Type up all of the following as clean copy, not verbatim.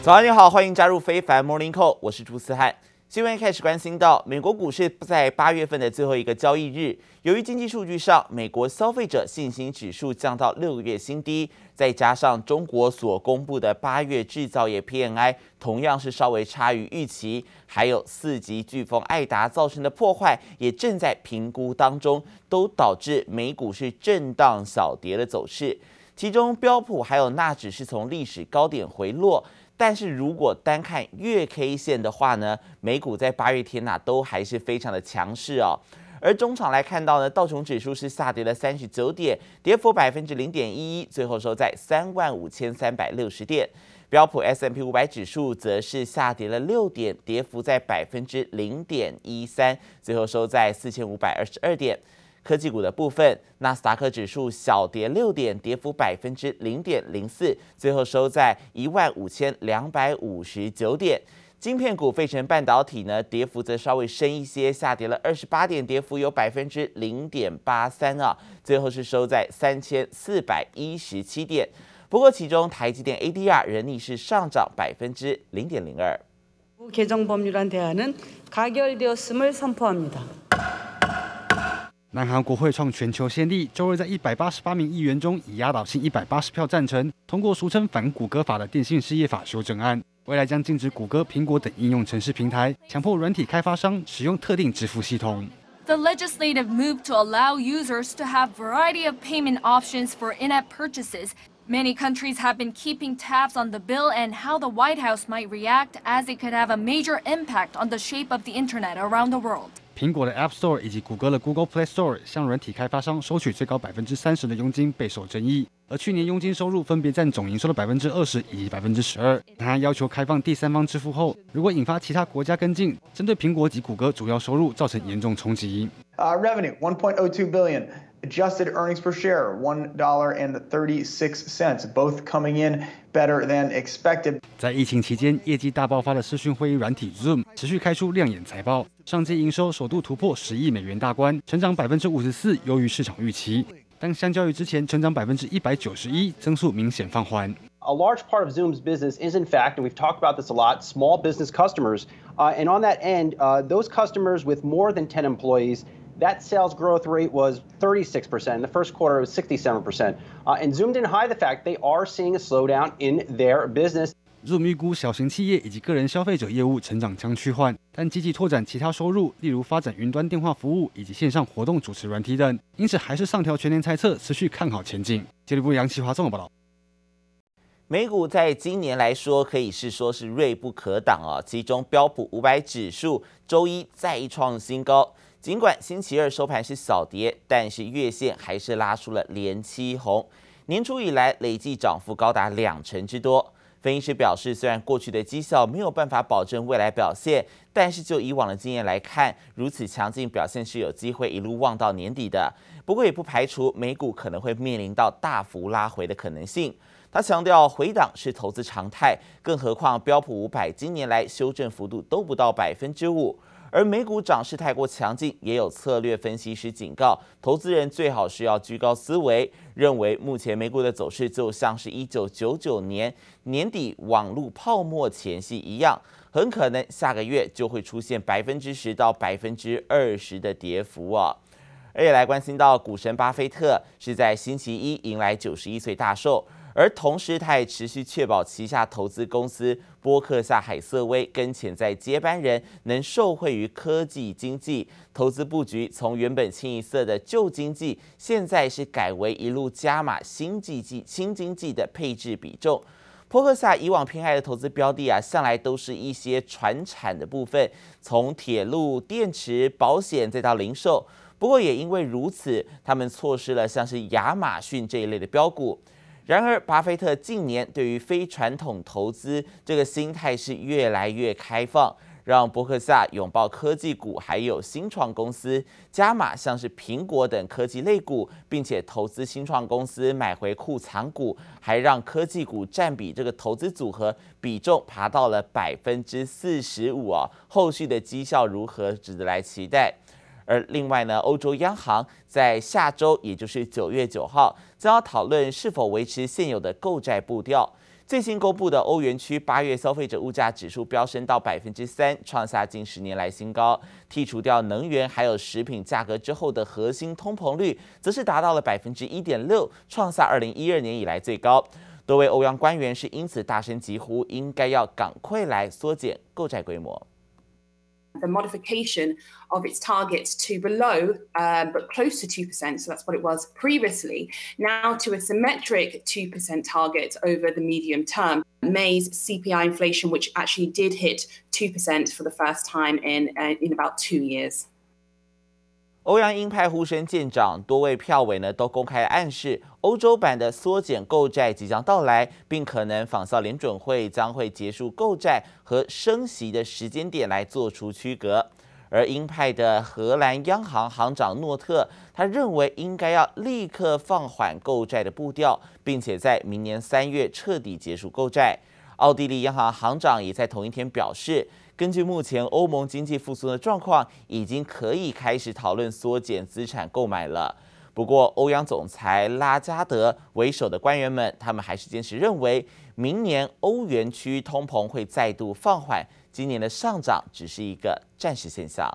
早上你好，歡迎加入非凡 Morning Call， 我是朱思翰。新聞一開始關心到，美國股市在8月份的最後一個交易日，由於經濟數據上，美國消費者信心指數降到6個月新低，再加上中國所公布的8月製造業 PMI 同樣是稍微差於預期，還有4級颶風艾達造成的破壞也正在評估當中，都導致美股是震盪小跌的走勢。其中標普還有納指是從歷史高點回落。但是如果單看月 K 線的話呢，美股在8月天都還是非常的強勢哦。而中場來看到呢，道瓊指數是下跌了39點，跌幅0.11%，最後收在35,360點。標普 S&P 500指數則是下跌了6點，跌幅在0.13%，最後收在4,522點。科技股的部分，納斯達克指數小跌6點，跌幅0.04%，最後收在15,259點。晶片股費城半導體呢，跌幅則稍微深一些，下跌了28點，跌幅有0.83%啊，最後是收在3,417點。不過其中台積電 ADR 仍逆勢上漲0.02%。 개정법률안대안은 가결되었음을 선포합니다. 南韓國會創全球先例，周日在188名議員中以壓倒性180票贊成，通過俗稱反谷歌法的電信事業法修正案，未來將禁止谷歌、蘋果等應用程式平台強迫軟體開發商使用特定支付系統。 The legislative move to allow users to have variety of payment options for in-app purchases. Many countries have been keeping tabs on the bill and how the White House might react, as it could have a major impact on the shape of the internet around the world. 蘋果的 App Store 以及谷歌的 Google Play Store 向軟體開發商收取最高30%的佣金備受爭議，而去年佣金收入分別佔總營收的20%以及12%。他要求開放第三方支付後，如果引發其他國家跟進，針對蘋果及谷歌主要收入造成嚴重衝擊。 Revenue $1.02 billion. Adjusted earnings per share $1.36, both coming in better than expected. 在疫情期間，業績大爆發的視訊會議軟體 Zoom 持續開出亮眼財報，上季營收首度突破10億美元大關，成長54%，優於市場預期。但相較於之前成長191%，增速明顯放緩。 A large part of Zoom's business is, in fact, and we've talked about this a lot, small business customers. And on that end, those customers with more than 10 employees.That sales growth rate was 36%. In the first quarter, it was 67%. And Zoom didn't hide the fact they are seeing a slowdown in their business. Zoom 預估小型企業以及個人消費者業務成長將趨緩，但積極拓展其他收入，例如發展雲端電話服務以及線上活動主持軟體等，因此還是上調全年猜測，持續看好前景。經濟部楊啟華綜合報道。 美股在今年來說可以是說是銳不可擋啊，其中標普500指數週一再創新高。儘管星期二收盤是小跌，但是月線還是拉出了連七紅，年初以來累計漲幅高達20%之多。分析師表示，雖然過去的績效沒有辦法保證未來表現，但是就以往的經驗來看，如此強勁表現是有機會一路望到年底的。不過也不排除美股可能會面臨到大幅拉回的可能性。他強調，回檔是投資常態，更何況標普500今年來修正幅度都不到5%。而美股漲勢太過強勁，也有策略分析師警告，投資人最好是要居高思維，認為目前美股的走勢就像是1999年年底網絡泡沫前夕一樣，很可能下個月就會出現10%到20%的跌幅啊。而且來關心到股神巴菲特是在星期一迎來91歲大壽。而同時，他也持續確保旗下投資公司波克夏海瑟威跟潛在接班人能受惠於科技經濟，投資布局從原本清一色的舊經濟，現在是改為一路加碼新經濟的配置比重。波克夏以往偏愛的投資標的向來都是一些傳產的部分，從鐵路、電池、保險再到零售。不過也因為如此，他們錯失了像是亞馬遜這一類的標股。然而，巴菲特近年對於非傳統投資這個心態是越來越開放，讓波克夏擁抱科技股，還有新創公司，加碼像是蘋果等科技類股，並且投資新創公司買回庫藏股，還讓科技股佔比這個投資組合比重爬到了45%啊！後續的績效如何，值得來期待。而另外呢，歐洲央行在下周，也就是9月9號，將要討論是否維持現有的購債步調。 最新公布的歐元區8月消費者物價指數飆升到3%，創下近10年來新高。剔除掉能源還有食品價格之後的核心通膨率，則是達到了1.6%，創下2012年以來最高。多位歐央官員是因此大聲疾呼，應該要趕快來縮減購債規模。 The modification of its targets to below, but close to 2%, so that's what it was previously, now to a symmetric 2% target over the medium term. May's CPI inflation, which actually did hit 2% for the first time in about 2 years. 歐央鷹派呼聲漸長，多位票委呢都公開暗示，歐洲版的縮減購債即將到來，並可能仿效聯準會將會結束購債和升息的時間點來做出區隔。而鷹派的荷蘭央行行長諾特，他認為應該要立刻放緩購債的步調，並且在明年3月徹底結束購債。奧地利央行行長也在同一天表示，根據目前歐盟經濟復甦的狀況，已經可以開始討論縮減資產購買了。不過，歐央總裁拉加德為首的官員們，他們還是堅持認為，明年歐元區通膨會再度放緩，今年的上漲只是一個暫時現象。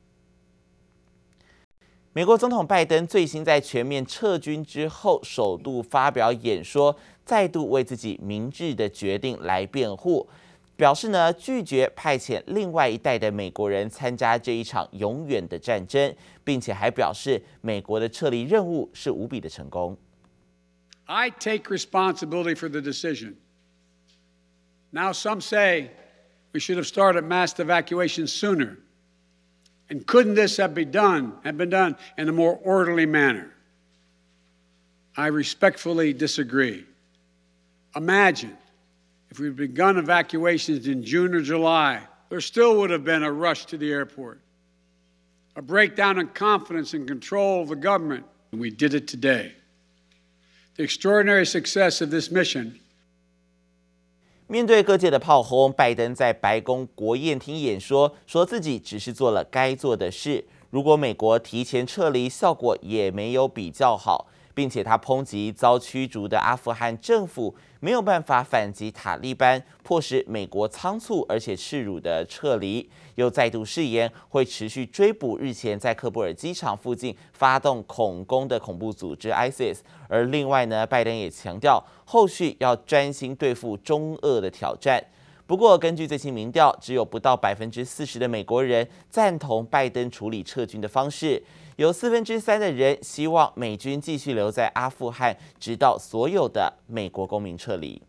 美國總統拜登最新在全面撤軍之後，首度發表演說，再度為自己明智的決定來辯護，表示呢拒絕派遣另外一代的美國人參加這一場永遠的戰爭，並且還表示美國的撤離任務是無比的成功。 I take responsibility for the decision. Now some say we should have started mass evacuation sooner. And couldn't this have been done in a more orderly manner? I respectfully disagree. Imagine if we'd begun evacuations in June or July, there still would have been a rush to the airport, a breakdown in confidence and control of the government, and we did it today. The extraordinary success of this mission. 面對各界的炮轟，拜登在白宮國宴廳演說，說自己只是做了該做的事。如果美國提前撤離，效果也沒有比較好，並且他抨擊遭驅逐的阿富汗政府沒有辦法反擊塔利班，迫使美國倉促而且恥辱的撤離，又再度誓言會持續追捕日前在喀布爾機場附近發動恐攻的恐怖組織 ISIS。而另外呢，拜登也強調後續要專心對付中俄的挑戰。不過，根據最新民調，只有不到40%的美國人贊同拜登處理撤軍的方式，有3%的人希望美軍繼續留在阿富汗，直到所有的美國公民撤離。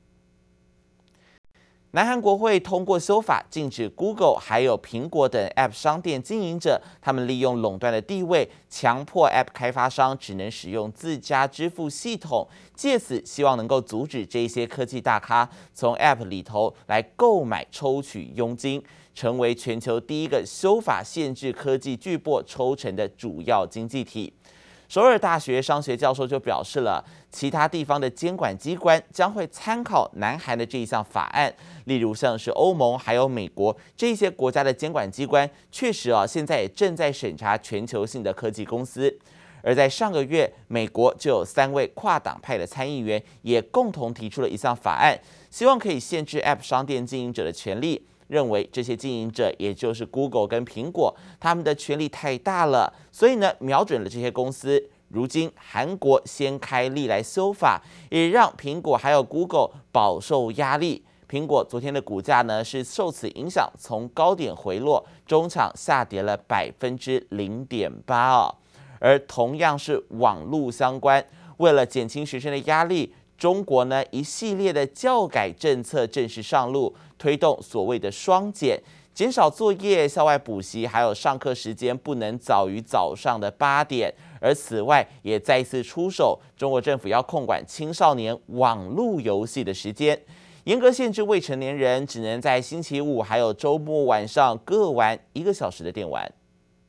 南韓國會通過修法，禁止 Google 還有蘋果等 App 商店經營者，他們利用壟斷的地位，強迫 App 開發商只能使用自家支付系統，借此希望能夠阻止這些科技大咖從 App 裡頭來購買抽取佣金，成為全球第一個修法限制科技巨擘抽成的主要經濟體。首爾大學商學教授就表示了，其他地方的監管機關將會參考南韓的這一項法案，例如像是歐盟還有美國這些國家的監管機關，確實現在也正在審查全球性的科技公司。而在上個月，美國就有3位跨黨派的參議員也共同提出了一項法案，希望可以限制 App 商店經營者的權利。認為這些經營者，也就是 Google 跟蘋果，他們的權力太大了，所以呢，瞄準了這些公司。如今韓國先開立來修法，也讓蘋果還有 Google 飽受壓力。蘋果昨天的股價呢是受此影響，從高點回落，中場下跌了0.8%哦。而同樣是網絡相關，為了減輕學生的壓力，中國呢一系列的教改政策正式上路，推動所謂的雙減，減少作業、校外補習，還有上課時間不能早於早上的8點。而此外，也再次出手，中國政府要控管青少年網絡遊戲的時間，嚴格限制未成年人只能在星期五還有週末晚上各玩1個小時的電玩。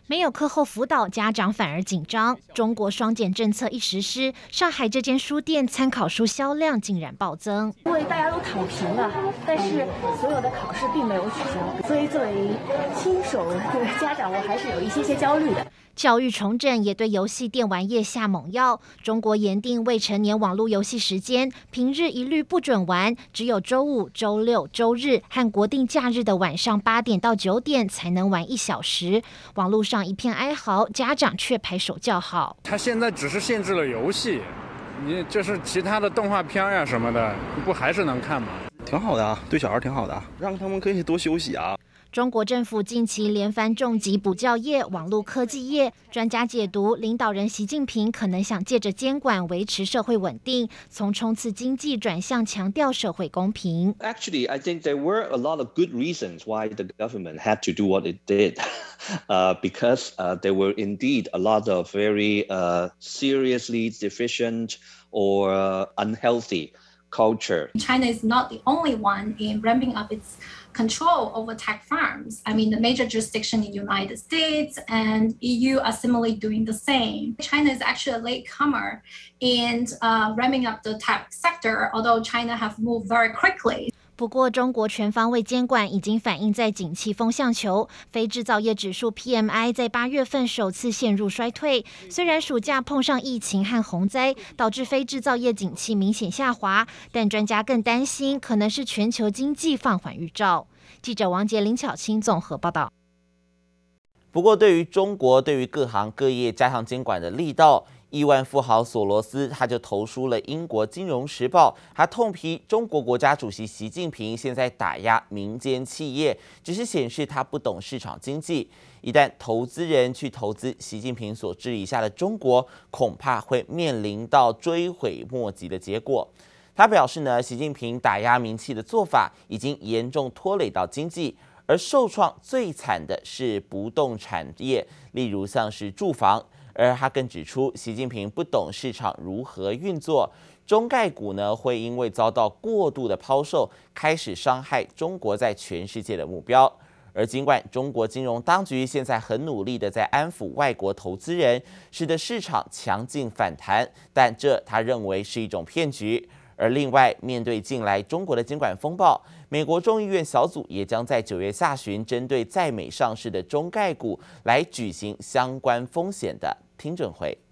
沒有課後輔導，家長反而緊張。中國雙減政策一實施，上海這間書店參考書銷量竟然暴增。 因為大家都躺平了，但是所有的考試並沒有取消，所以作為新手的家長，我還是有一些焦慮的。 教育重整也對遊戲電玩業下猛藥。中國嚴定未成年網絡遊戲時間，平日一律不准玩，只有週五、週六、週日和國定假日的晚上8點到9點才能玩1小時。網絡上一片哀嚎，家長卻拍手叫好。 他現在只是限制了遊戲，你就是其他的動畫片呀什麼的，不還是能看嗎？ 挺好的啊，對小孩挺好的，讓他們可以多休息啊。 中國政府近期連番重擊補教業、網絡科技業，專家解讀，領導人習近平可能想借着監管維持社會穩定，從衝刺經濟轉向強調社會公平。 Actually, I think there were a lot of good reasons why the government had to do what it did, because there were indeed a lot of very seriously deficient or unhealthy culture. China is not the only one in ramping up its control over tech firms. I mean, the major jurisdictions in the United States and EU are similarly doing the same. China is actually a latecomer in ramping up the tech sector, although China have moved very quickly. 不過，中國全方位監管已經反映在景氣風向球，非製造業指數 PMI 在8月份首次陷入衰退。雖然暑假碰上疫情和洪災，導致非製造業景氣明顯下滑，但專家更擔心可能是全球經濟放緩預兆。記者王杰、林巧清綜合報道。 不過，對於中國對於各行各業加強監管的力道，億萬富豪索羅斯他就投書了英國《金融時報》，他痛批中國國家主席習近平現在打壓民間企業，只是顯示他不懂市場經濟。一旦投資人去投資習近平所治理下的中國，恐怕會面臨到追悔莫及的結果。他表示呢，習近平打壓民企的做法已經嚴重拖累到經濟，而受創最慘的是不動產業，例如像是住房。而他更指出，習近平不懂市場如何運作，中概股呢會因為遭到過度的拋售，開始傷害中國在全世界的目標。而儘管中國金融當局現在很努力的在安撫外國投資人，使得市場強勁反彈，但這他認為是一種騙局。而另外，面對近來中國的監管風暴，美國眾議院小組也將在9月下旬針對在美上市的中概股來舉行相關風險的聽證會。